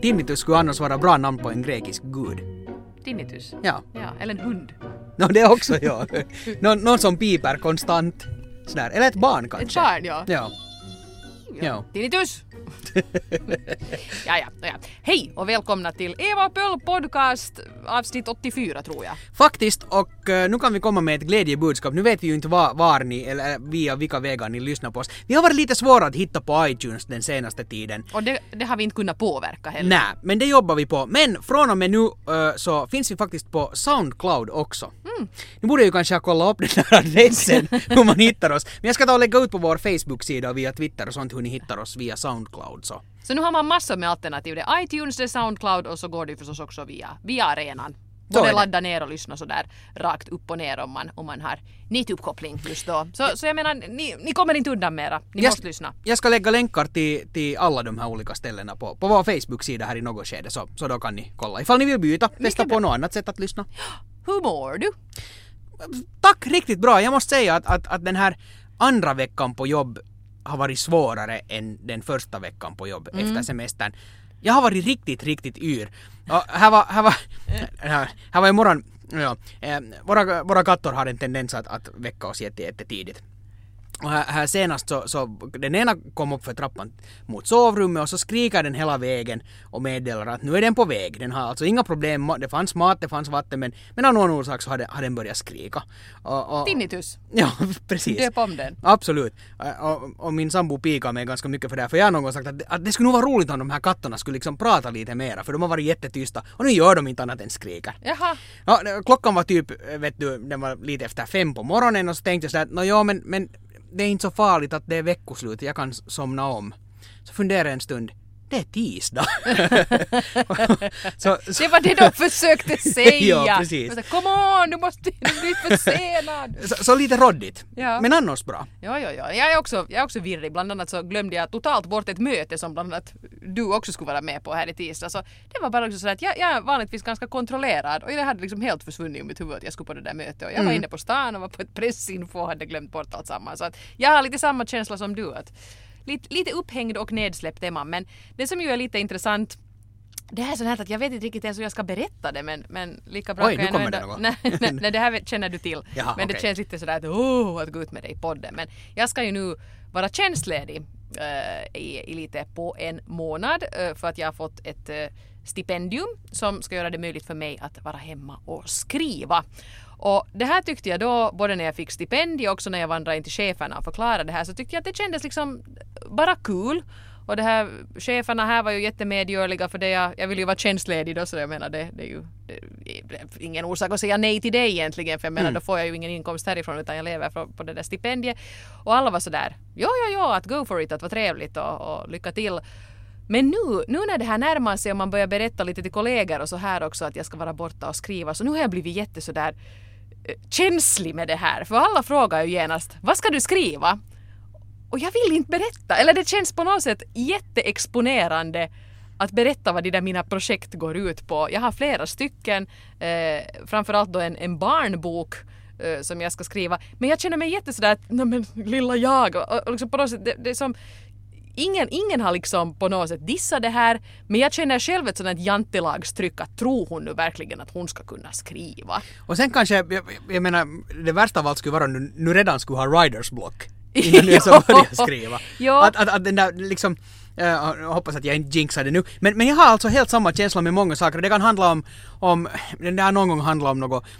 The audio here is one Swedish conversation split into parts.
Tinnitus skulle annars vara bra namn på en grekisk gud. Tinnitus? Ja. Ja, eller en hund. Det också, ja. Någon som piper konstant. Sådär. Eller ett barn kanske. Ett barn, ja. Ja. Tinnitus! ja. Hej och välkomna till Eva och Pöll podcast avsnitt 84 tror jag. Faktiskt, och nu kan vi komma med ett glädjebudskap. Nu vet vi ju inte var ni, eller via vilka vägar ni lyssnar på oss. Vi har varit lite svåra att hitta på iTunes den senaste tiden. Och det har vi inte kunnat påverka heller. Nej, men det jobbar vi på. Men från och med nu så finns vi faktiskt på Soundcloud också. Nu borde ju kanske kolla upp den här adressen hur man hittar oss. Men jag ska ta och lägga ut på vår Facebook-sida och via Twitter och sånt hur ni hittar oss via Soundcloud. Så nu har man massor med alternativ. Det är iTunes, det är Soundcloud och så går det förstås också via arenan. Både ladda ner och lyssna så där rakt upp och ner om man har nätuppkoppling just då. Så jag menar, ni kommer inte undan mera. Ni måste lyssna. Jag ska lägga länkar till alla de här olika ställena på vår Facebook-sida här i något skede. Så då kan ni kolla. Ifall ni vill byta, testa på något annat sätt att lyssna. Hur mår du? Tack, riktigt bra. Jag måste säga att den här andra veckan på jobb har varit svårare än den första veckan på jobb efter semestern. Jag har varit riktigt yr. Och här var imorgon, våra katter har en tendens att väcka oss jättetidigt. Och här senast så den ena kom upp för trappan mot sovrummet och så skriker den hela vägen och meddelar att nu är den på väg. Den har alltså inga problem, det fanns mat, det fanns vatten, men av någon orsak så har den börjat skrika. Tinnitus. Ja, precis. Döp om den. Absolut. Och min sambo pikar mig ganska mycket för det här, för jag har någon gång sagt att det skulle nog vara roligt om de här katterna skulle liksom prata lite mera, för de har varit jättetysta och nu gör de inte annat än skriker. Jaha. Ja, klockan var typ, den var lite efter 5 på morgonen och så tänkte jag sådär, men det är inte så farligt att det är veckoslut, jag kan somna om. Så funderar en stund, det är tisdag. Det var det de försökte säga. Ja, precis. Come on, du måste bli försenad. Så lite roddigt, ja. Men annars bra. Ja. Jag är också virrig. Bland annat så glömde jag totalt bort ett möte som bland annat du också skulle vara med på här i tisdag. Så det var bara också så att jag är vanligtvis ganska kontrollerad och jag hade liksom helt försvunnit i mitt huvud att jag skulle på det där mötet. Och jag var inne på stan och var på ett pressinfo och hade glömt bort allt samman. Så att jag har lite samma känsla som du, att lite upphängd och nedsläppt är man. Men det som ju är lite intressant, det här är sånt här att jag vet inte riktigt ens hur jag ska berätta det, men lika bra kan jag ändå... Nej, det här känner du till. Jaha, men det känns lite sådär att gå ut med dig i podden. Men jag ska ju nu vara tjänstledig i lite på en månad för att jag har fått ett stipendium som ska göra det möjligt för mig att vara hemma och skriva. Och det här tyckte jag då, både när jag fick stipendium och också när jag vandrade in till cheferna och förklarade det här, så tyckte jag att det kändes liksom bara kul. Och det här, cheferna här var ju jättemedgörliga för det jag vill ju vara tjänstledig då, så jag menar det är ju ingen orsak att säga nej till det egentligen, för jag menar då får jag ju ingen inkomst härifrån utan jag lever på det där stipendiet. Och alla var sådär, ja, att go for it, att vara trevligt och lycka till. Men nu när det här närmar sig och man börjar berätta lite till kollegor och så här också att jag ska vara borta och skriva, så nu har jag blivit jättesådär känslig med det här. För alla frågar ju genast, vad ska du skriva? Och jag vill inte berätta. Eller det känns på något sätt jätteexponerande att berätta vad de där mina projekt går ut på. Jag har flera stycken, framförallt då en barnbok som jag ska skriva. Men jag känner mig jättesådär, men lilla jag. Och liksom på något sätt, det är som... Ingen har liksom på något sätt dissat det här, men jag känner själv ett sådant jantelagstryck att tror hon nu verkligen att hon ska kunna skriva. Och sen kanske, jag menar, det värsta av allt skulle vara nu redan skulle ha writer's block innan du så börjar skriva. Att den där liksom, jag hoppas att jag inte jinxar det nu, men jag har alltså helt samma känsla med många saker. Det kan handla om den där någon gång handlar om något,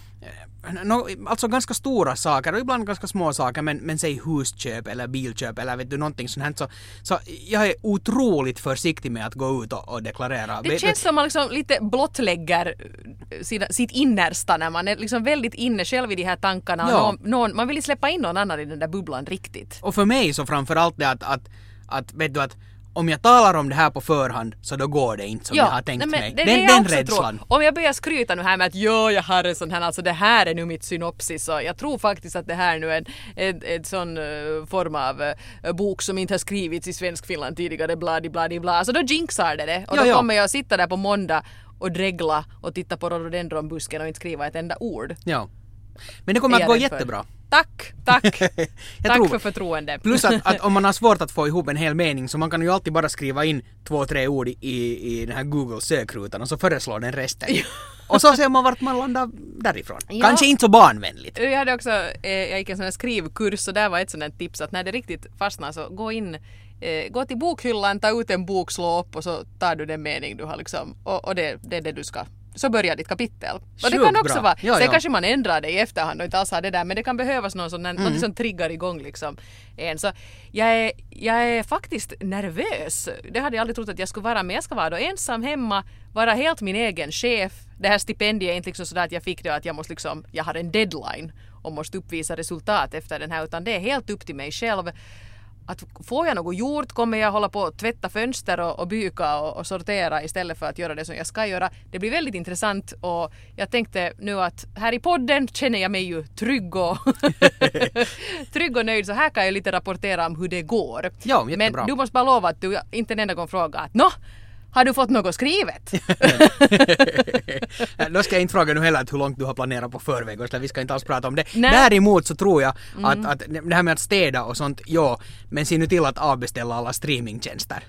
alltså ganska stora saker och ibland ganska små saker, men säg husköp eller bilköp eller vet du någonting sånt här, så jag är otroligt försiktig med att gå ut och deklarera. Det känns som man liksom lite blottlägger sitt innersta när man är liksom väldigt inne själv i de här tankarna och man vill släppa in någon annan i den där bubblan riktigt. Och för mig så framförallt det att vet du att om jag talar om det här på förhand så då går det inte som jag har tänkt mig. Den rädslan. Om jag börjar skryta nu här med att jag har en sån här, alltså det här är nu mitt synopsis och jag tror faktiskt att det här nu är en sån form av bok som inte har skrivits i svensk Finland tidigare, bla. Alltså då jinxar det. Och då kommer jag sitta där på måndag och dregla och titta på rhododendronbusken och inte skriva ett enda ord. Ja. Men det kommer är att gå jag rädd för. jättebra. Tack Jag tror- för förtroende. Plus att om man har svårt att få ihop en hel mening så man kan ju alltid bara skriva in 2-3 ord i den här Google sökrutan och så föreslår den resten. Och så ser man vart man landar därifrån. Ja. Kanske inte så barnvänligt. Jag hade också, jag gick en sån här skrivkurs och där var ett sånt här tips att när det riktigt fastnar så gå till bokhyllan, ta ut en bok, slå upp och så tar du den mening du har liksom, och det är det du ska. Så börjar ditt kapitel. Och det Sjukt kan också bra. vara, Ja, sen ja. kanske man ändrar det i efterhand och inte alls har det där, men det kan behövas något som triggar igång liksom en. Så jag är faktiskt nervös. Det hade jag aldrig trott att jag skulle vara, men jag ska vara då ensam hemma, vara helt min egen chef. Det här stipendiet är inte liksom sådär att jag fick det att jag måste liksom, jag har en deadline och måste uppvisa resultat efter den här, utan det är helt upp till mig själv. Att får jag något gjort kommer jag hålla på att tvätta fönster och byka och sortera istället för att göra det som jag ska göra. Det blir väldigt intressant och jag tänkte nu att här i podden känner jag mig ju trygg och nöjd, så här kan jag lite rapportera om hur det går. Ja, jättebra. Men du måste bara lova att du inte en enda gång frågar att har du fått något skrivet? Då ska jag inte fråga nu heller hur långt du har planerat på förväg, så vi ska inte alls prata om det. Nej. Däremot så tror jag att det här med att städa och sånt, ja, men se nu till att avbeställa alla streamingtjänster.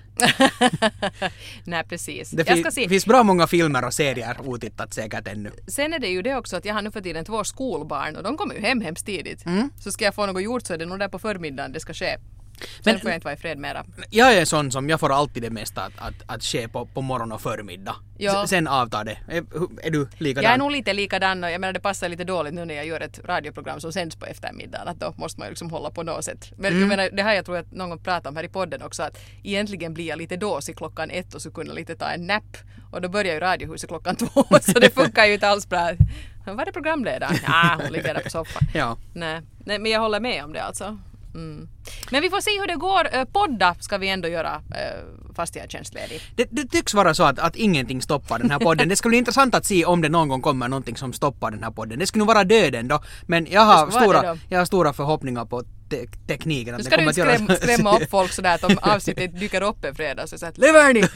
Nej, precis. Det Jag ska se. finns bra många filmer och serier otittat säkert ännu. Sen är det ju det också att jag har nu för tiden 2 skolbarn och de kommer ju hem hemskt tidigt. Så ska jag få något gjort så är det nog där på förmiddagen det ska ske. Sen får jag inte vara i fred mera. Jag är sån som, jag får alltid det mesta att ske på morgon och förmiddag. Ja. Sen avtar det. Är du likadan? Jag är nog lite likadan och jag menar det passar lite dåligt nu när jag gör ett radioprogram som sänds på eftermiddagen, att då måste man ju liksom hålla på något sätt. Men jag menar, det här jag tror att någon gång pratar om här i podden också, att egentligen blir jag lite dåsig klockan 1 och så kunna lite ta en nap och då börjar ju radiohuset klockan 2 så det funkar ju inte alls bra. Var är programledaren? Ja, hon ligger där på soffan. Ja. Nej, men jag håller med om det alltså. Men vi får se hur det går. Podda ska vi ändå göra fast jag är tjänstledig. Det tycks vara så att ingenting stoppar den här podden. Det skulle bli intressant att se om det någon gång kommer någonting som stoppar den här podden. Det skulle nog vara döden då. Men jag har stora förhoppningar på tekniken. Nu ska du inte skrämma upp folk sådär att om avsnittet dyker upp en fredag så att lever ni?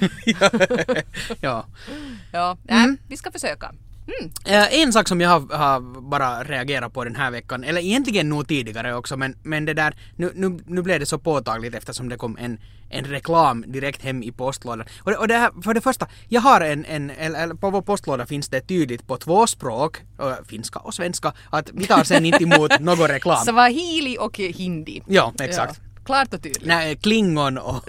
Ja. Ja, vi ska försöka. En sak som jag har bara reagerat på den här veckan, eller egentligen nog tidigare också, men det där, nu blev det så påtagligt eftersom det kom en reklam direkt hem i postlådan. Och det här, för det första, jag har eller på vår postlåda finns det tydligt på 2 språk, finska och svenska, att vi tar sen inte emot någon reklam. Swahili och hindi. Ja, exakt. Ja. Klart och tydligt. Nej, klingon och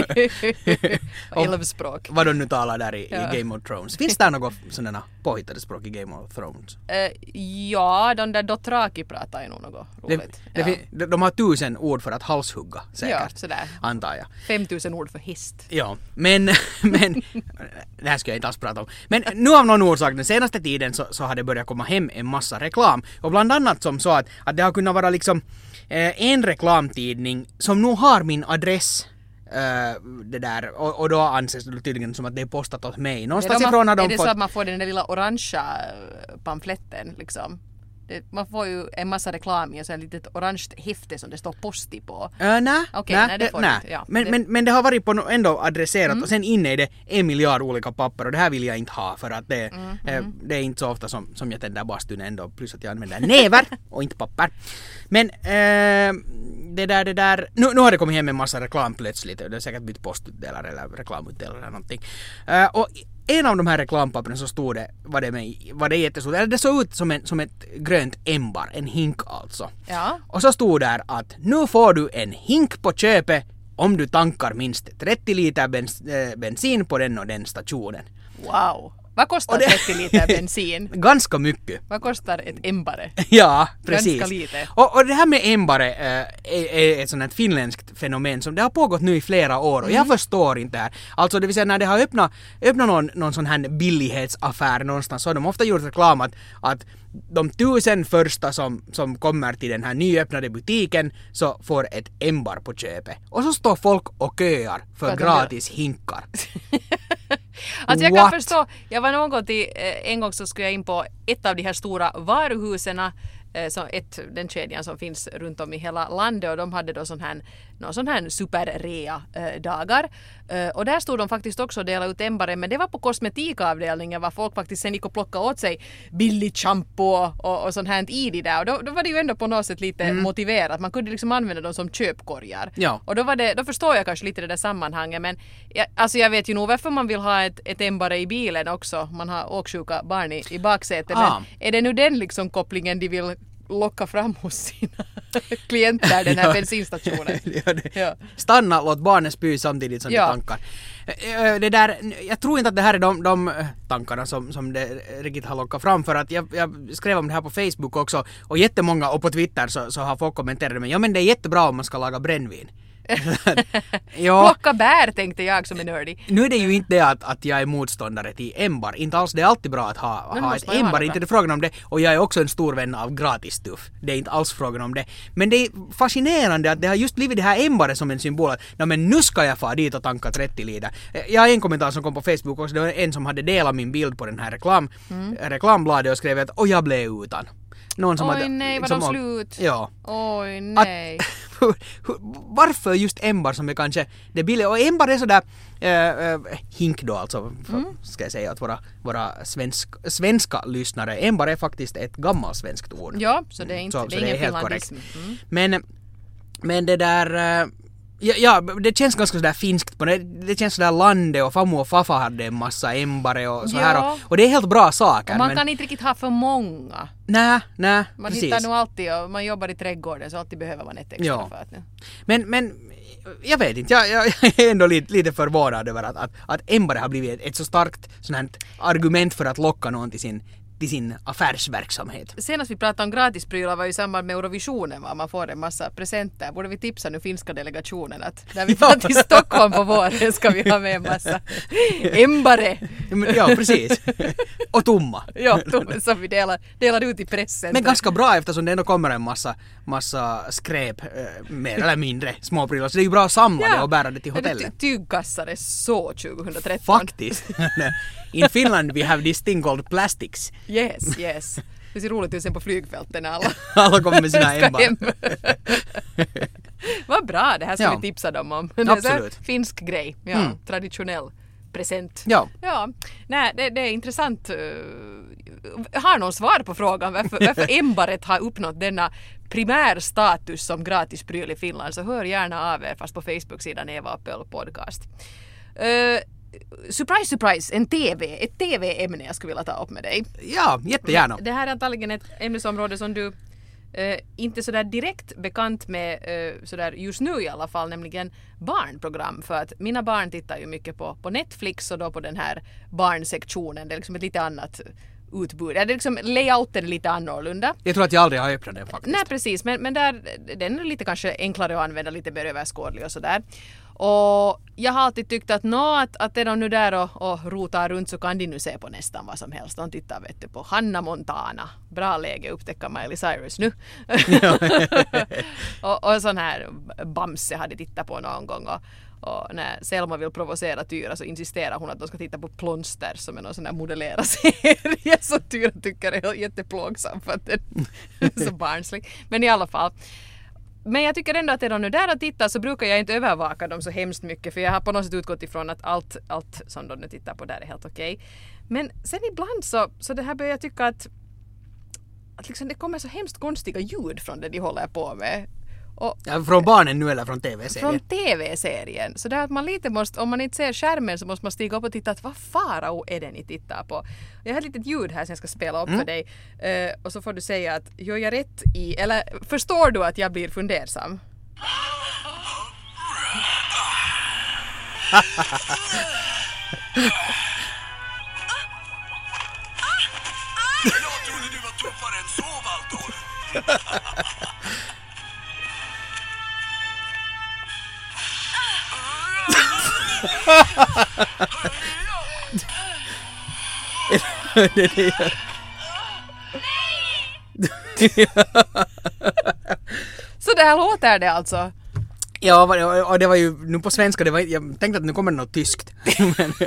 Älvspråk. vad de nu talar där i Game of Thrones. Finns det något sådana påhittade språk i Game of Thrones? Ja, de där Dothraki pratar ju nog något roligt. De har 1000 ord för att halshugga, säkert. Ja, sådär. Antar jag. 5000 ord för häst. Ja, men det här ska jag inte alls prata om. Men nu av någon orsak, den senaste tiden så har det börjat komma hem en massa reklam. Och bland annat som så att det har kunnat vara liksom en reklamtidning som nog har min adress det där, och då anses det tydligen som att det är postat åt mig. Någonstans ifrån har de är det fått... så att man får den där lilla orangea pamfletten liksom? Man får ju en massa reklam i en sån litet orange häfte som det står posti på. Nej, det får du inte. Ja, men det har varit på ändå adresserat och sen inne är det 1 miljard olika papper och det här vill jag inte ha för att det är inte så ofta som jag tänder bastun ändå, plus att jag använder näver och inte papper. Men det där nu har det kommit hem en massa reklam plötsligt, det är säkert bytt postutdelare eller reklamutdelare eller någonting. Och en av de här reklampapperna så stod det, var det jättestort, eller det såg ut som ett grönt ämbar, en hink alltså. Ja. Och så stod där att nu får du en hink på köpet om du tankar minst 30 liter bensin på den och den stationen. Wow. Vad kostar 30 liter bensin? Ganska mycket. Vad kostar ett ämbare? Ja, precis. Ganska lite. Och det här med ämbare är ett sånt här finländskt fenomen som det har pågått nu i flera år och jag förstår inte det här. Alltså det vill säga när det har öppnat någon sån här billighetsaffär någonstans så har de ofta gjort reklam att de 1000 första som kommer till den här nyöppnade butiken så får ett ämbar på köpet. Och så står folk och köar för gratis hinkar. Alltså jag kan förstå, jag var en gång så skulle jag in på ett av de här stora varuhusen den kedjan som finns runt om i hela landet, och de hade då någon sån här superrea-dagar. Och där stod de faktiskt också och delade ut ämbare, men det var på kosmetikavdelningen, var folk faktiskt sen gick och plockade åt sig billig shampoo och sånt här i det där. Och då var det ju ändå på något sätt lite motiverat. Man kunde liksom använda dem som köpkorgar. Ja. Och då förstår jag kanske lite det där sammanhanget, men jag vet ju nog varför man vill ha ett ämbare i bilen också. Man har åksjuka barn i baksätet, men är det nu den liksom kopplingen de vill locka fram hos sina klienter, den här bensinstationen? Ja. Stanna, låt barnen spy samtidigt som de tankar. Det där, jag tror inte att det här är de tankarna som det riktigt har lockat fram, för att jag skrev om det här på Facebook också, och jättemånga, och på Twitter så har folk kommenterat, men men det är jättebra om man ska laga brännvin. Plocka bär, tänkte jag som är nördig. Nu är det ju inte det att jag är motståndare till ämbar. Inte alls, det är alltid bra att ha ett ämbar, inte det frågan om det. Och jag är också en stor vän av gratis stuff. Det är inte alls frågan om det. Men det är fascinerande att det har just blivit det här ämbaret som en symbol. Men nu ska jag få dit och tanka 30 liter. Jag har en kommentar som kom på Facebook också. Det var en som hade delat min bild på den här reklambladet och skrev att jag blev utan. Någon som nej, var de slut? Ja. Oj, nej. Varför just ämbar som är kanske det billiga? Och ämbar är sådär hink då alltså, ska jag säga att våra svenska lyssnare. Ämbar är faktiskt ett gammalt svenskt ord. Ja, så det är inte det är ingen finlandism. Men det där... Ja, det känns ganska sådär finskt på det. Det känns sådär landet, och farmor och farfar hade en massa ämbare och så här. Och det är helt bra saker. Och man kan inte riktigt ha för många. Nej, man precis. Hittar nog alltid, och man jobbar i trädgården, så alltid behöver man ett extra för att nu. Men jag vet inte, jag är ändå lite förvånad över att ämbare har blivit ett så starkt sånt här argument för att locka någon till sin affärsverksamhet. Senast vi pratade om gratisprylar var ju i samband med Eurovisionen, var man får en massa presenter. Borde vi tipsa nu finska delegationen att när vi tar till Stockholm på våren ska vi ha med en massa ämbare. Ja, precis. Och tomma. Ja, som vi delar ut i pressen. Men ganska bra, eftersom det ändå kommer en massa skräp, mer eller mindre småprylar. Så det är ju bra att samla det och bära det till hotellet. Tygkassar är så 2013. Faktiskt. In Finland we have this thing called plastics. Yes. Det ser roligt ut sen på flygfälten när alla kommer med sina ämbar. Vad bra, det här ska vi tipsa dem om. Absolut. Finsk grej, traditionell present. Ja. Nej, det är intressant. Har någon svar på frågan varför ämbaret har uppnått denna primärstatus som gratispryl i Finland, så hör gärna av er, fast på Facebook-sidan Eva Appel podcast. Surprise, ett TV-ämne jag skulle vilja ta upp med dig. Ja, jättegärna. Det här är antagligen ett ämnesområde som du inte sådär direkt bekant med sådär just nu i alla fall, nämligen barnprogram, för att mina barn tittar ju mycket på Netflix, och då på den här barnsektionen. Det är liksom ett lite annat utbud. Det är liksom layouten är lite annorlunda. Jag tror att jag aldrig har öppnat den faktiskt. Nej, precis. Men där, den är lite kanske enklare att använda, lite mer överskådlig och sådär. Och jag har alltid tyckt att att är de nu där och rotar runt, så kan de nu se på nästan vad som helst. De tittar på Hanna Montana. Bra läge upptäcka Miley Cyrus nu. och sån här Bamse hade tittat på någon gång. Och när Selma vill provocera Tyra så insisterar hon att de ska titta på Plonster, som är någon sån här modellerad serie. Så Tyra tycker det är jätteplågsam för att den är så barnslig. Men i alla fall. Men jag tycker ändå att är de nu där och tittar, så brukar jag inte övervaka dem så hemskt mycket, för jag har på något sätt utgått ifrån att allt som de nu tittar på där är helt okej. Men sen ibland så det här börjar jag tycka att liksom det kommer så hemskt konstiga ljud från det de håller på med. Från barnen nu eller från tv-serien? Från tv-serien. Så det är att man lite måste, om man inte ser skärmen, så måste man stiga upp och titta att vad farao är det ni tittar på. Jag har ett litet ljud här som jag ska spela upp för dig. Och så får du säga att gör jag rätt i, eller förstår du att jag blir fundersam? Jag trodde du var tuffare än så, Valtor. Så där låter det alltså. Ja, och det var ju nu på svenska, jag tänkte att nu kommer det något tyskt.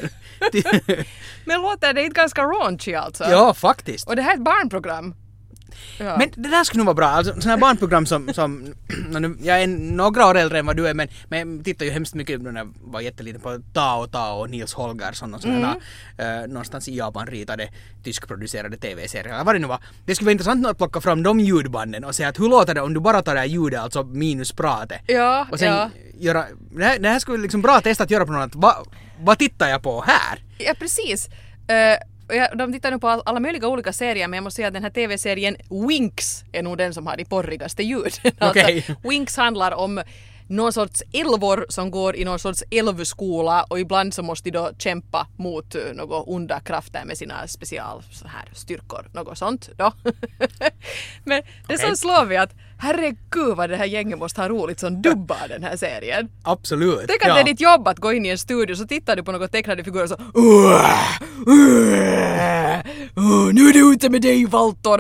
Men låter det inte ganska raunchy alltså? Ja, faktiskt. Och det här är ett barnprogram. Ja. Men det där skulle nog vara bra. Alltså sådana här barnprogram som jag är några år äldre än vad du är, men jag tittar ju hemskt mycket när jag var jätteliten på Tao och Nils Holgersson och sådana någonstans i Japan ritade tyskproducerade tv-serier. Vad det nu var. Det skulle vara intressant att plocka fram de ljudbanden och säga att hur låter det om du bara tar det här ljudet, alltså minus pratet. Ja, Och sen göra, det här skulle liksom bra testa att göra på något annat. Vad tittar jag på här? Ja, precis. De tittar nu på alla möjliga olika serier, men jag måste säga att den här tv-serien Winx är nog den som har de porrigaste ljuden. Okay. Alltså, Winx handlar om någon sorts älvor som går i någon sorts älvskola och ibland så måste de då kämpa mot några onda krafter med sina special så här styrkor, något sånt då. Men det som slår vi att herregud vad det här gänget måste ha roligt som dubbar den här serien. Absolut. Tänk att det är ditt jobb att gå in i en studio så tittar du på några tecknade figurer så nu är det ute med dig Valtor.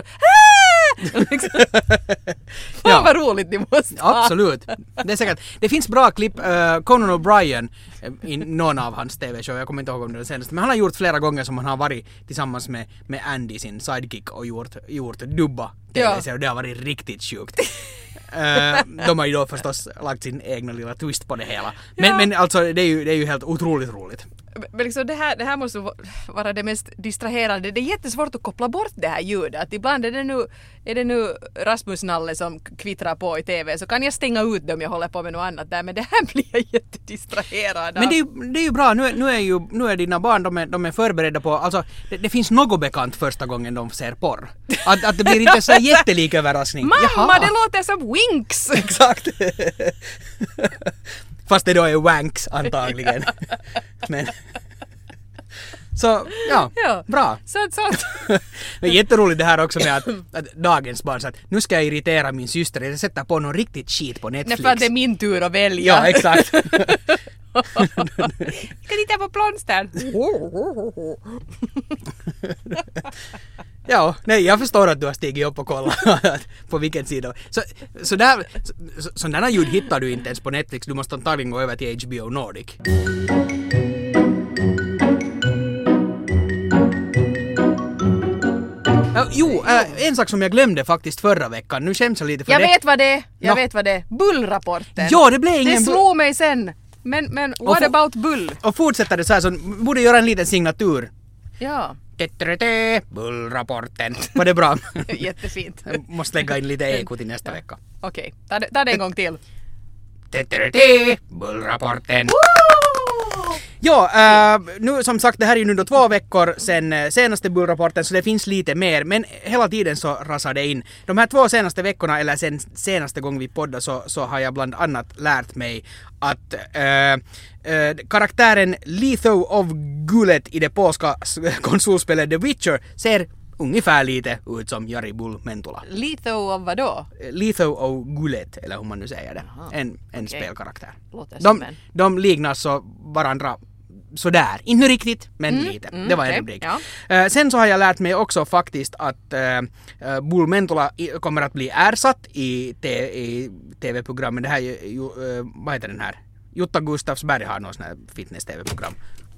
Fan vad roligt ni måste ha. Absolut. Det är säkert. Det finns bra klipp. Conan O'Brien i någon av hans tv-show. Jag kommer inte ihåg om det är den senaste. Men han har gjort flera gånger som han har varit tillsammans med Andy, sin sidekick, och gjort dubba tv-serier. Och det har varit riktigt sjukt. De har ju då förstås lagt sin egna lilla twist på det hela. Men alltså det är ju helt otroligt roligt. Men liksom det här måste vara det mest distraherande. Det är jättesvårt att koppla bort det här ljudet. Att ibland är det nu Rasmus Nalle som kvittrar på i tv, så kan jag stänga ut dem, jag håller på med något annat där. Men det här blir jag jättedistraherad av. Men det är ju bra. Nu är dina barn, de är förberedda på, alltså det finns något bekant första gången de ser porr. Att det blir inte så jättelik överraskning. Mamma, det låter som Winx! Exakt. Fast det då är wanks antagligen. Men så, bra. Sant. Men jätteroligt det här också med att dagens barn sa att nu ska jag irritera min syster, jag sätter på någon riktigt skit på Netflix. Nej, för att det är min tur att välja. Ja, exakt. Ska titta på plånstern? Ja, nej, jag förstår att du har stigit upp och kollat på vilken sida. Sådana ljud hittar du inte ens på Netflix. Du måste antagligen gå över till HBO Nordic. En sak som jag glömde faktiskt förra veckan. Nu skäms jag lite för jag det. Vet vad det är. Bullrapporten. Ja, det blev ingen... Det slår mig sen. Men what about bull? Och fortsätter det så här, så borde göra en liten signatur. Ja. Bullrapporten. Var det bra? Jättefint. Jag måste lägga in lite eko till nästa vecka. Okej, ta det en gång till. Bullrapporten. Ja, nu som sagt, det här är ju nu då 2 veckor sen senaste bullrapporten, så det finns lite mer, men hela tiden så rasar det in. De här 2 senaste veckorna, eller sen senaste gången vi poddade, så har jag bland annat lärt mig att karaktären Letho of Gulet i det polska konsolspelet The Witcher ser ungefär lite ut som Jari Bull Mentula. Letho av vadå? Letho of Gulet, eller hur man nu säger det. En spelkaraktär. De liknar så varandra sådär. Inte riktigt, men lite. Det var en rubrik. Ja. Sen så har jag lärt mig också faktiskt att Bull Mentula kommer att bli ersatt i tv-programmen. Det här vad heter den här? Jutta Gustafsberg har någon sån här fitness-tv-program.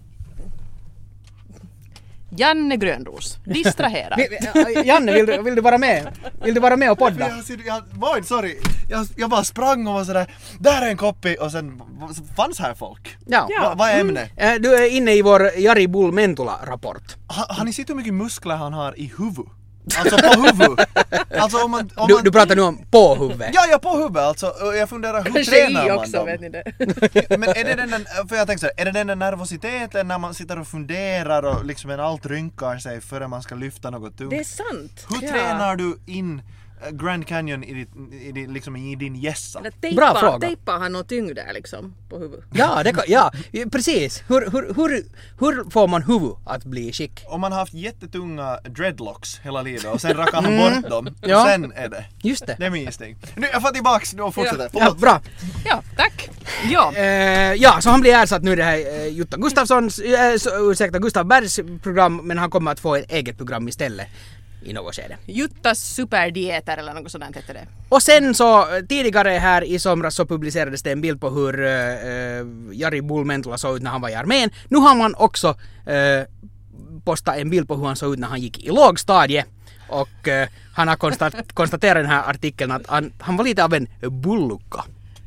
Janne Grönros, distrahera. Janne, vill du vara med? Vill du vara med och podda? Jag bara sprang och var sådär, där är en koppi, och sen fanns här folk. Ja. Vad är ämnet? Du är inne i vår Jari Bull Mentula-rapport. Har ni sett hur mycket muskler han har i huvud? Alltså på huvud. Alltså om man du pratar nu om på huvudet. Ja, på huvudet. Alltså, jag funderar, hur tränar man också, dem? vet ni det? Men är det den, för jag tänker så här, är det den där nervositeten när man sitter och funderar och liksom allt rynkar sig före man ska lyfta något tungt? Det är sant. Hur tränar du in Grand Canyon i din gässa? Bra fråga. Tejpar han något tyngd där liksom på huvudet? Ja, precis. Hur får man huvud att bli skick? Om man har haft jättetunga dreadlocks hela livet och sen rakar han bort dem, Ja. och sen är det. Just det. Det är min gissning. Nu, jag får tillbaks och fortsätter. Ja, bra. Ja, tack. Ja. Ja, så han blir ersatt nu, det här Jutta Gustafssons, Gustav Bergs program, men han kommer att få ett eget program istället i något skede. Juttas superdieter eller något sådant heter det. Och sen så tidigare här i somras så publicerades det en bild på hur Jari Bull Mentula såg ut när han var i armén. Nu har man också postat en bild på hur han såg ut när han gick i lågstadie. Och han har konstaterat i den här artikeln att han var lite av en bullukka.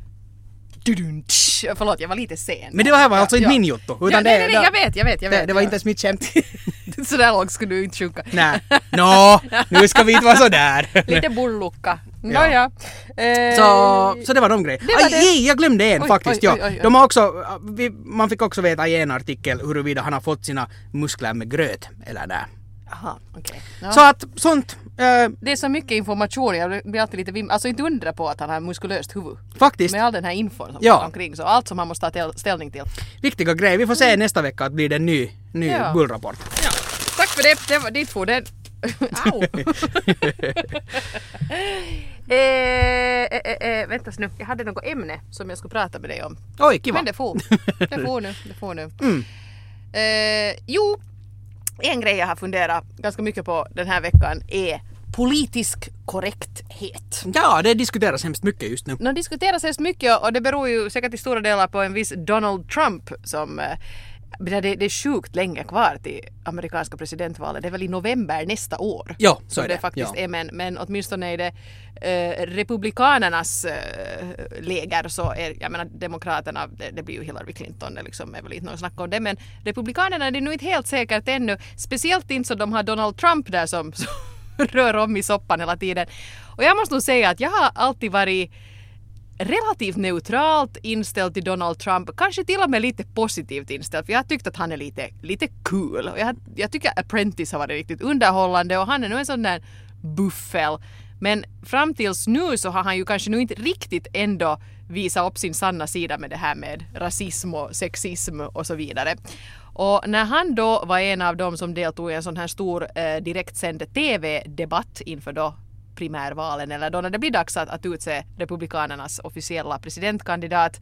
Förlåt, jag var lite sen. Men det var alltså inte min jotto. Utan nej, jag vet. Det var inte ens mitt skämt. Så där långt skulle du inte sjunka. Nej. Nu ska vi inte vara så där. Lite bullukka. Ja. Så det var de grejerna. Jag glömde en faktiskt. Oj. De har också, man fick också veta i en artikel huruvida han har fått sina muskler med gröt eller nej. Aha, okej. Ja. Så att sånt... det är så mycket information, jag blir alltid lite alltså inte undra på att han har muskulöst huvud. Faktiskt. Med all den här infon som går omkring, så allt som han måste ta ställning till. Viktiga grejer. Vi får se nästa vecka att blir det en ny bullrapport. Ja. Tack för det. Det var ditt för den. Au. Vänta nu, jag hade något ämne som jag skulle prata med dig om. Oj, kiva. Men det får nu. Jo, en grej jag har funderat ganska mycket på den här veckan är politisk korrekthet. Ja, det diskuteras hemskt mycket just nu. Det diskuteras hemskt mycket och det beror ju säkert till stora delar på en viss Donald Trump som det är sjukt länge kvar till amerikanska presidentvalet. Det är väl i november nästa år. Ja, så som är det det faktiskt ja. är. Men åtminstone är det republikanernas läger så är, jag menar demokraterna, det blir ju Hillary Clinton, det liksom är väl inte något snack om det, men republikanerna det är nog inte helt säkert ännu. Speciellt inte så de har Donald Trump där som rör om i soppan hela tiden. Och jag måste nog säga att jag har alltid varit relativt neutralt inställd till Donald Trump, kanske till och med lite positivt inställd, för jag har tyckt att han är lite cool och jag tycker Apprentice har varit riktigt underhållande och han är nog en sån där buffel, men fram tills nu så har han ju kanske nu inte riktigt ändå visat upp sin sanna sida med det här med rasism och sexism och så vidare. Och när han då var en av dem som deltog i en sån här stor direktsänd tv-debatt inför då primärvalen eller då när det blir dags att utse republikanernas officiella presidentkandidat,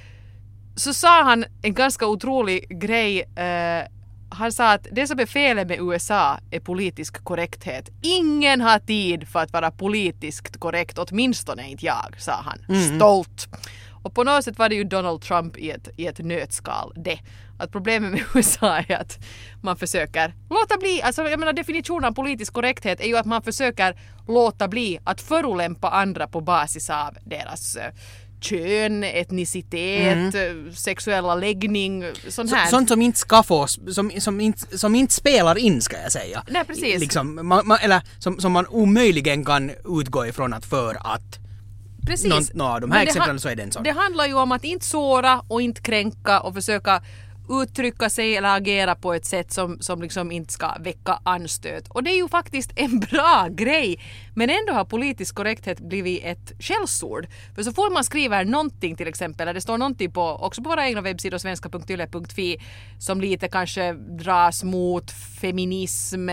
så sa han en ganska otrolig grej. Han sa att det som är felet med USA är politisk korrekthet. Ingen har tid för att vara politiskt korrekt, åtminstone inte jag, sa han. Stolt. Och på något sätt var det ju Donald Trump i ett nötskal det. Att problemet med USA är att man försöker låta bli, alltså jag menar definitionen av politisk korrekthet är ju att man försöker låta bli att förolämpa andra på basis av deras kön, etnicitet, sexuella läggning, sånt här. Sånt som inte ska få, som inte spelar in ska jag säga. Nej, precis. Liksom, eller som man omöjligen kan utgå ifrån att för att precis. De här exemplen så är det en sån. Det handlar ju om att inte såra och inte kränka och försöka uttrycka sig eller agera på ett sätt som liksom inte ska väcka anstöt. Och det är ju faktiskt en bra grej. Men ändå har politisk korrekthet blivit ett skällsord. För så får man skriva någonting till exempel, eller det står någonting också på våra egna webbsidor svenska.yle.fi som lite kanske dras mot feminism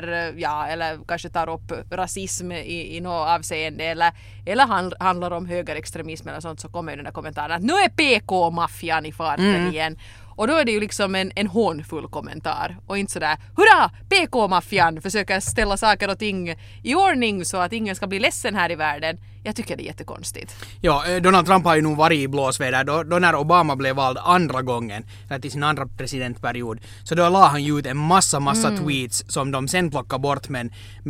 eller kanske tar upp rasism i något avseende eller handlar om högerextremism eller sånt, så kommer ju den där kommentaren att nu är PK-maffian i farten igen. Och då är det ju liksom en hånfull kommentar. Och inte sådär, hurra, PK-maffian försöker ställa saker och ting i ordning så att ingen ska bli ledsen här i världen. Jag tycker det är jättekonstigt. Ja, Donald Trump har ju nog varit i blåsväder. Då när Obama blev vald andra gången, eller till sin andra presidentperiod, så då la han ju ut en massa tweets som de sen plockade bort, men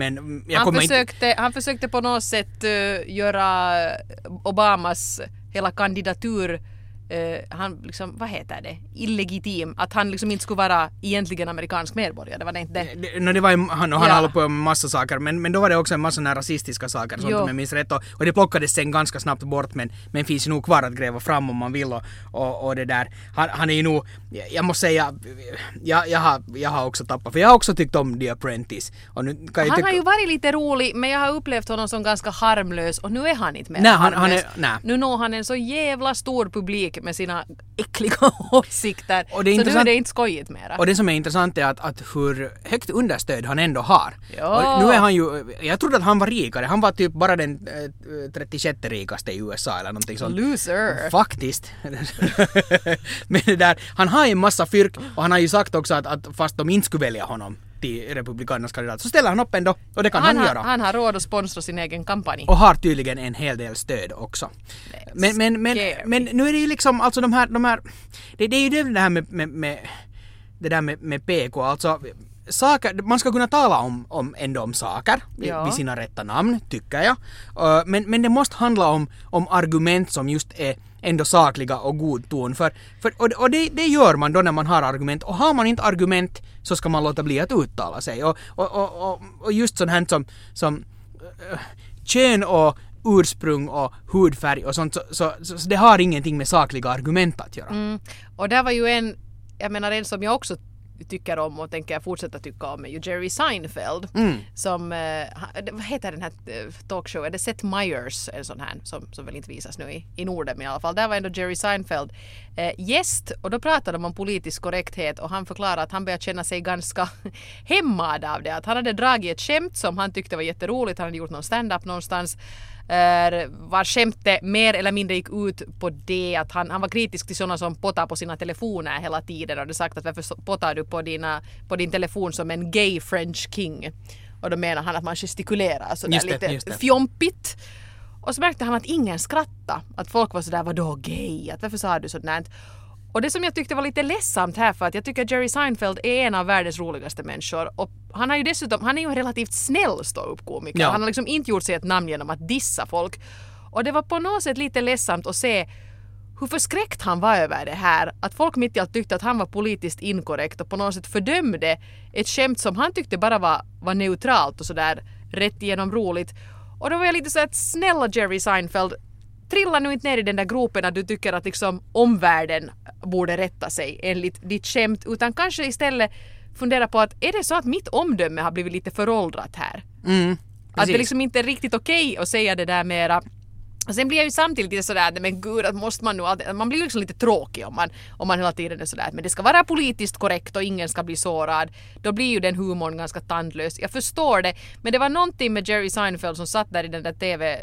han försökte på något sätt göra Obamas hela kandidatur han liksom, vad heter det? Illegitim. Att han liksom inte skulle vara egentligen amerikansk medborgare. Det var det inte det. Det var ju, han håller på med massa saker. Men då var det också en massa rasistiska saker. Sånt om jag minns rätt. Och det plockades sen ganska snabbt bort. Men finns ju nog kvar att gräva fram om man vill. Och det där. Han är ju nog, jag måste säga, jag har också tappat. För jag har också tyckt om The Apprentice. Och nu kan han har ju varit lite rolig. Men jag har upplevt honom som ganska harmlös. Och nu är han inte mer harmlös. Nu når han en så jävla stor publik med sina äckliga åsikter. Och det är så nu är det inte skojigt mera. Och det som är intressant är att hur högt understöd han ändå har. Ja. Och nu är han ju, jag trodde att han var rikare. Han var typ bara den 36 rikaste i USA eller någonting sånt. Loser. Faktiskt. Men det där, han har ju en massa fyrk och han har ju sagt också att fast de inte skulle välja honom till republikanernas kandidat så ställer han upp ändå och det kan han göra. Han har råd att sponsra sin egen kampanj. Och har tydligen en hel del stöd också. Men nu är det ju liksom alltså de här det är ju det här med det där med PK alltså saker, man ska kunna tala om saker vid sina rätta namn, tycker jag. Men det måste handla om argument som just är ändå sakliga och god ton. Och det gör man då när man har argument. Och har man inte argument så ska man låta bli att uttala sig. Och just sånt här som kön och ursprung och hudfärg och sånt, så det har ingenting med sakliga argument att göra. Och där var ju en som jag också tycker om och tänker fortsätta tycka om är ju Jerry Seinfeld som vad heter den här talkshowen? Det är Seth Meyers, en sån här som väl inte visas nu i Norden, men i alla fall där var ändå Jerry Seinfeld gäst, och då pratade de om politisk korrekthet, och han förklarade att han började känna sig ganska hämmad av det, att han hade dragit ett skämt som han tyckte var jätteroligt, han hade gjort någon stand-up någonstans var skämtet mer eller mindre gick ut på det att han var kritisk till sådana som potar på sina telefoner hela tiden, och hade sagt att varför potar du på din telefon som en gay French king, och då menar han att man gestikulerar sådär lite fjompigt, och så märkte han att ingen skrattade, att folk var sådär, vadå gay, att varför sa du sådär. Och det som jag tyckte var lite ledsamt här, för att jag tycker att Jerry Seinfeld är en av världens roligaste människor, och han är ju en relativt snäll ståuppkomiker. Ja. Han har liksom inte gjort sig ett namn genom att dissa folk. Och det var på något sätt lite ledsamt att se hur förskräckt han var över det här. Att folk mitt i allt tyckte att han var politiskt inkorrekt och på något sätt fördömde ett skämt som han tyckte bara var neutralt och sådär rätt igenom roligt. Och då var jag lite så att snälla Jerry Seinfeld, trilla nu inte ner i den där gropen att du tycker att liksom omvärlden borde rätta sig enligt ditt skämt, utan kanske istället fundera på att är det så att mitt omdöme har blivit lite föråldrat här? Att det liksom inte är riktigt okej att säga det där mera. Och sen blir jag ju samtidigt lite sådär, men gud, att måste man nu alltid, man blir liksom lite tråkig om man hela tiden är sådär, men det ska vara politiskt korrekt och ingen ska bli sårad. Då blir ju den humorn ganska tandlös. Jag förstår det, men det var någonting med Jerry Seinfeld som satt där i den där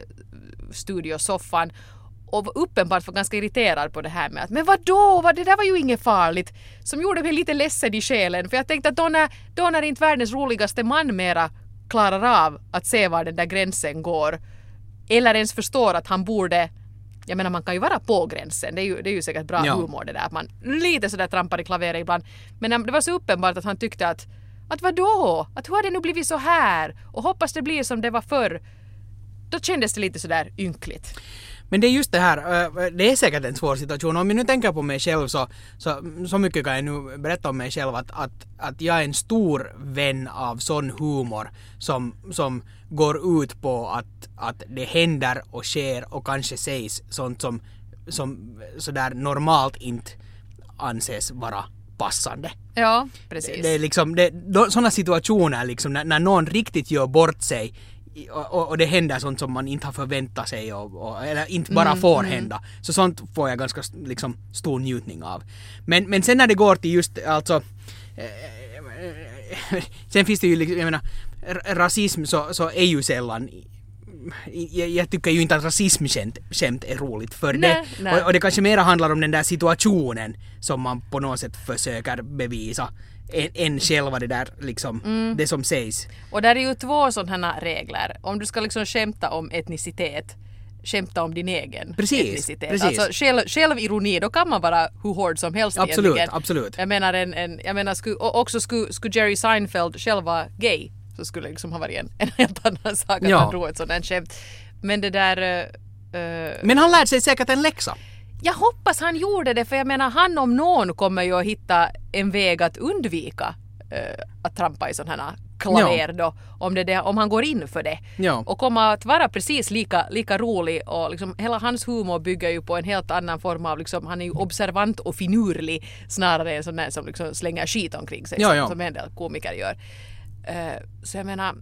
tv-studiosoffan och var uppenbart för ganska irriterad på det här med att men vadå, det där var ju inget farligt, som gjorde mig lite ledsen i själen, för jag tänkte att då när inte världens roligaste man mera klarar av att se var den där gränsen går, eller ens förstår att han borde, jag menar man kan ju vara på gränsen, det är ju säkert bra humor det där, att man lite sådär trampar i klaveret ibland, men det var så uppenbart att han tyckte att vadå, att hur har det nu blivit så här, och hoppas det blir som det var förr, då kändes det lite sådär ynkligt. Men det är just det här, det är säkert en svår situation. Om jag nu tänker på mig själv så mycket kan jag nu berätta om mig själv att jag är en stor vän av sån humor som går ut på att det händer och sker och kanske sägs sånt som sådär normalt inte anses vara passande. Ja, precis. Det är liksom, sådana situationer liksom, när någon riktigt gör bort sig och det händer sånt som man inte har förväntat sig eller inte bara får hända. Så sånt får jag ganska liksom stor njutning av. Men sen när det går till just alltså sen finns det ju liksom, jag menar, rasism så är ju sällan, jag tycker ju inte att rasismskämt är roligt för det. Och det kanske mer handlar om den där situationen som man på något sätt försöker bevisa än själva det där liksom, det som sägs. Och där är ju två sådana regler. Om du ska liksom skämta om etnicitet, skämta om din egen etnicitet. Precis. Alltså självironi, då kan man vara hur hård som helst egentligen. Absolut. Jag menar skulle Jerry Seinfeld själv vara gay, så skulle det liksom ha varit en helt annan sak att han drog ett sådant skämt. Men det där... Men han lärde sig säkert en läxa. Jag hoppas han gjorde det, för jag menar, han om någon kommer ju att hitta en väg att undvika att trampa i sådana här klaver då, om han går in för det. Ja. Och kommer att vara precis lika rolig, och liksom hela hans humor bygger ju på en helt annan form av liksom, han är ju observant och finurlig snarare än sån där som liksom slänger skit omkring sig som en del komiker gör. Så jag menar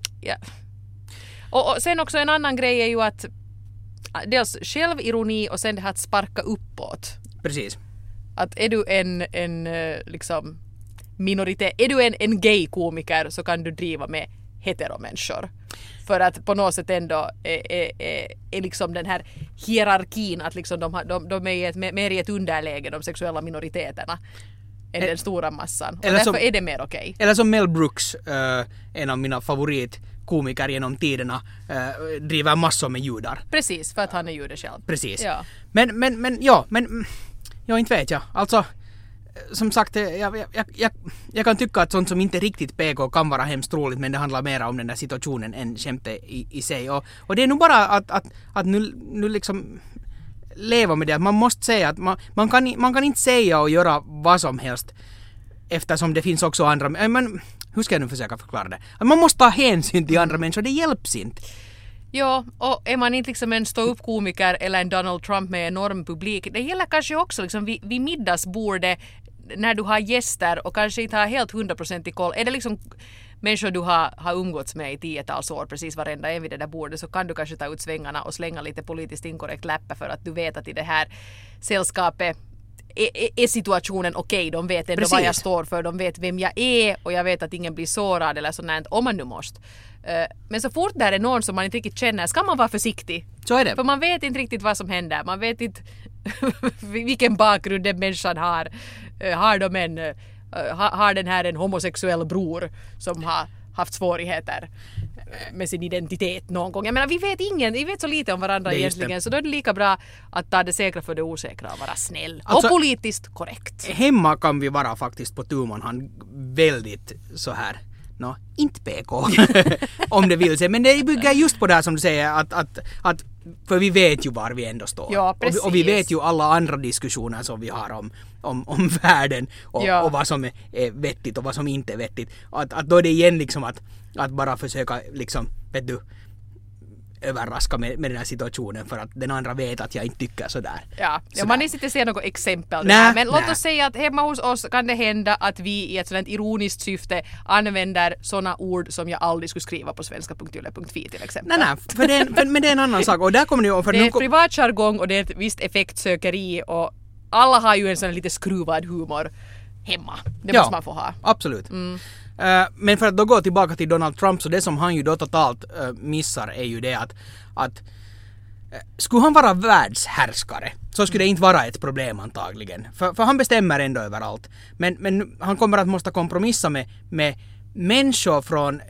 och sen också en annan grej är ju att dels självironi och sen det här att sparka uppåt. Precis. Att är du en liksom minoritet, är du en gay-komiker, så kan du driva med heteromänniskor. För att på något sätt ändå är liksom den här hierarkin att liksom de är mer i ett underläge, de sexuella minoriteterna, än den stora massan. Och därför är det mer okej. Eller som Mel Brooks, en av mina favoritkomiker genom tiderna, driver massor med judar. Precis, för att han är jude själv. Precis. Ja. Men inte vet jag. Alltså, som sagt, jag kan tycka att sånt som inte riktigt PK kan vara hemskt roligt, men det handlar mer om den där situationen än skämtet i sig. Och det är nog bara att nu liksom leva med det. Att man måste säga att man kan inte säga och göra vad som helst eftersom det finns också andra. Men hur ska jag nu försöka förklara det? Att man måste ta hänsyn till andra människor, det hjälps inte. Ja, och är man inte liksom en stå-upp-komiker eller en Donald Trump med enorm publik, det gäller kanske också liksom vid middagsbordet när du har gäster och kanske inte har helt 100% koll. Är det liksom människor du har umgåtts med i 10-tals år, precis varenda en vid det där bordet, så kan du kanske ta ut svängarna och slänga lite politiskt inkorrekt läppe för att du vet att i det här sällskapet är situationen okej. De vet ändå vad jag står för, de vet vem jag är och jag vet att ingen blir sårad eller sånt, om man nu måste. Men så fort där är någon som man inte riktigt känner ska man vara försiktig. Så är det. För man vet inte riktigt vad som händer. Man vet inte vilken bakgrund den människan har. Har den här en homosexuell bror som har haft svårigheter med sin identitet någon gång. Jag menar, vi vet så lite om varandra egentligen, så då är det lika bra att ta det säkra för det osäkra och vara snäll. Alltså, och politiskt korrekt. Hemma kan vi vara faktiskt på tumman han väldigt så här. Inte PK om det vill sig, men det bygger just på det här som du säger att för vi vet ju var vi ändå står. Ja, och vi vet ju alla andra diskussioner som vi har om världen och vad som är vettigt och vad som inte är vettigt. Att då är det igen liksom att bara försöka liksom, vet du, överraska med den här situationen för att den andra vet att jag inte tycker sådär. Ja, man inte se något exempel. Men låt oss säga att hemma hos oss kan det hända att vi i ett sådant ironiskt syfte använder sådana ord som jag aldrig skulle skriva på svenska.yle.fi till exempel. Nej, men det är en annan sak. Och där kommer det är ett privat jargong och det är ett visst effektsökeri och alla har ju en sån lite skruvad humor hemma. Det måste man få ha. Absolut. Men för att då gå tillbaka till Donald Trump, så det som han ju då totalt missar är ju det att skulle han vara världshärskare så skulle det inte vara ett problem antagligen. För han bestämmer ändå överallt. Men han kommer att måste kompromissa med människor från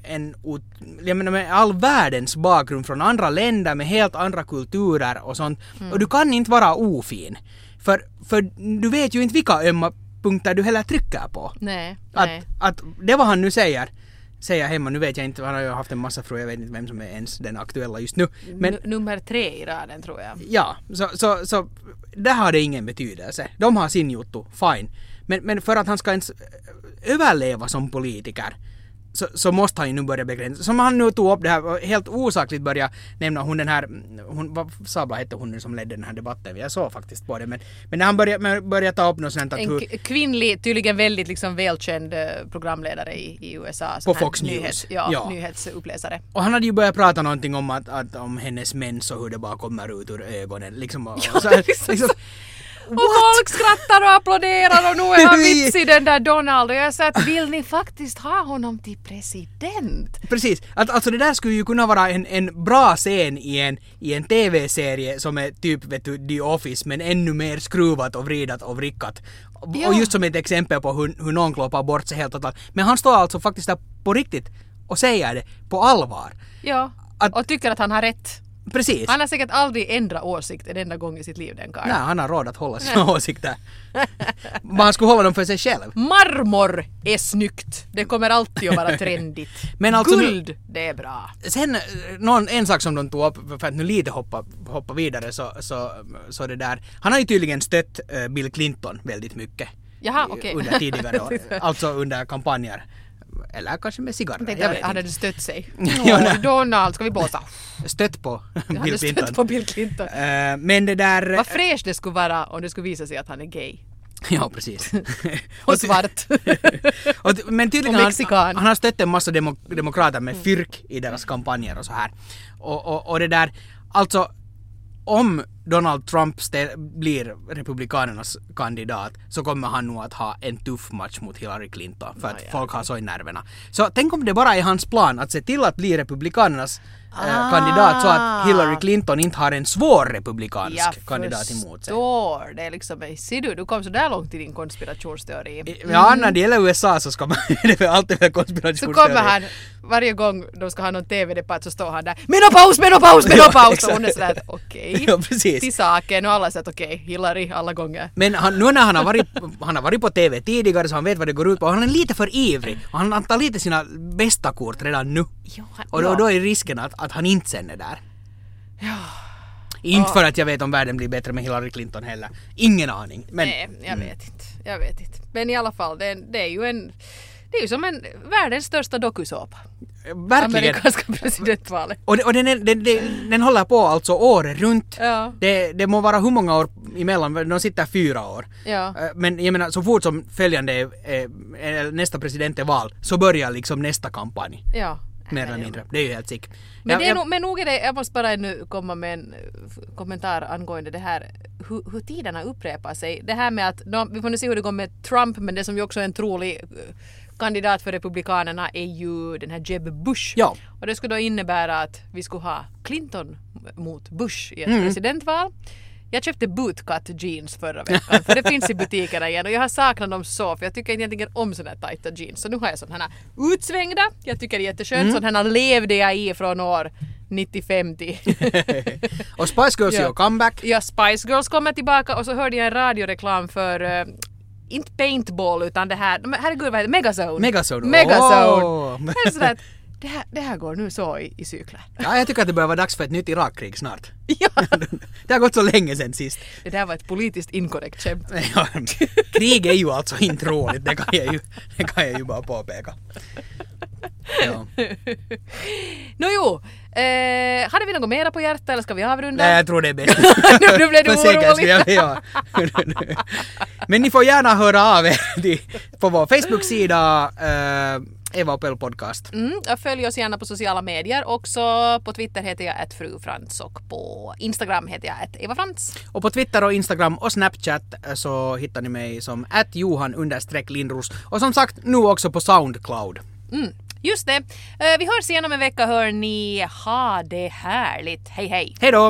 med all världens bakgrund från andra länder med helt andra kulturer och sånt. Och du kan inte vara ofin. För du vet ju inte vilka ömma punkter du heller trycker på. Nej. Att det var han nu säger hemma, nu vet jag inte, han har ju haft en massa fruar, jag vet inte vem som är ens den aktuella just nu. Men nummer 3 i raden tror jag. Ja, så där har det ingen betydelse. De har sin juttu, fine. Men för att han ska ens överleva som politiker så måste han ju nu börja begränsa. Som han nu tog upp det här, helt osakligt börja nämna vad Sabla hette hon nu som ledde den här debatten. Jag såg faktiskt på det. Men när han började ta upp något sånt att en kvinnlig, tydligen väldigt liksom välkänd programledare i USA. På Fox News. Nyhetsuppläsare. Och han hade ju börjat prata någonting om att om hennes mens och hur det bara kommer ut ur ögonen. Liksom, och folk skrattar och applåderar och nu är han vitsig den där Donald och jag sa att vill ni faktiskt ha honom till president? Precis, alltså det där skulle ju kunna vara en bra scen i en tv-serie som är typ vet du, The Office men ännu mer skruvat och vridat och vrickat. Ja. Och just som ett exempel på hur någon kloppar bort sig helt totalt. Men han står alltså faktiskt där på riktigt och säger det på allvar. Ja, och tycker att han har rätt. Precis. Han har säkert aldrig ändrat åsikt en enda gång i sitt liv, den karln. Nej, han har råd att hålla sina åsikter. Men han skulle hålla dem för sig själv. Marmor är snyggt. Det kommer alltid att vara trendigt. Men alltså, guld, det är bra. Sen en sak som de tog upp, för att nu lite hoppa vidare, så det där. Han har ju tydligen stött Bill Clinton väldigt mycket. Jaha, okej. Under tidigare år. Alltså under kampanjer. Eller kanske med cigarrer. Jag vet hade du stött sig? Donald, ska vi blåsa? Stött på Bill Clinton. Men det där... Vad fräscht det skulle vara om det skulle visa sig att han är gay. Ja, precis. Och svart. Men tydligen han har stött en massa demokrater med fyrk i deras kampanjer och så här. Och det där... Alltså... Om Donald Trump blir republikanernas kandidat så kommer han nog att ha en tuff match mot Hillary Clinton för att folk har så i nerverna. Så tänk om det bara är hans plan att se till att bli republikanernas kandidat så att Hillary Clinton inte har en svår republikansk kandidat emot sig. Jag det är liksom, ser du kom så där långt i din konspirationsteori. Ja, när det gäller USA så ska man det är alltid väl konspirationsteori. Så kommer han, varje gång de ska ha någon TV-debatt så står han där menopaus! Och hon är sådär att okej. Ja, precis. Till saken och alla har sagt okej, Hillary alla gånger. Men nu när han har varit på TV tidigare så han vet vad det går ut på. Han är lite för ivrig och han tar lite sina bästa kort redan nu. Ja, Och då är risken att han inte sen är där. Ja. Inte för att jag vet om världen blir bättre med Hillary Clinton heller. Ingen aning. Men, nej, jag vet inte. Men i alla fall, det är ju som en världens största dokusåpa. Verkligen. Amerikanska presidentvalet. Och den håller på alltså året runt. Ja. Det må vara hur många år emellan, de sitter 4 år. Ja. Men jag menar, så fort som följande nästa president är val så börjar liksom nästa kampanj. Ja. Mer eller mindre. Det är ju helt sick. Men nog är det, jag måste bara ännu komma med en kommentar angående det här hur tiderna upprepar sig. Det här med att, vi får nu se hur det går med Trump, men det som ju också är en trolig kandidat för Republikanerna är ju den här Jeb Bush. Ja. Och det skulle då innebära att vi skulle ha Clinton mot Bush i ett presidentval. Jag köpte bootcut jeans förra veckan för det finns i butikerna igen och jag har saknat dem så för jag tycker egentligen om sådana här tajta jeans. Så nu har jag sådana här utsvängda. Jag tycker det är jätteskönt. Sådana här levde jag i från år 95 till. Och Spice Girls gör comeback. Ja, Spice Girls kommer tillbaka och så hörde jag en radioreklam för inte paintball utan det här, herregud vad heter det? Megazone. Oh. Det är sådär att det här går nu så i cykler. Ja, jag tycker att det börjar vara dags för ett nytt Irakkrig snart. Ja. Det har gått så länge sedan sist. Det där var ett politiskt inkorrekt skämt. Ja, krig är ju alltså inte roligt, det kan jag ju bara påpeka. Ja. Hade vi något mera på hjärtat eller ska vi avrunda? Nej, jag tror det är bäst. Nu blev du orolig. Ja. Men ni får gärna höra av er på vår Facebook-sida Eva och Pell podcast. Följ oss gärna på sociala medier. Också på Twitter heter jag @frufrans och på Instagram heter jag @evafrans. Och på Twitter och Instagram och Snapchat så hittar ni mig som @johan_lindros. Och som sagt, nu också på Soundcloud. Just det. Vi hörs igen om en vecka, hör ni. Ha det härligt. Hej hej. Hej då!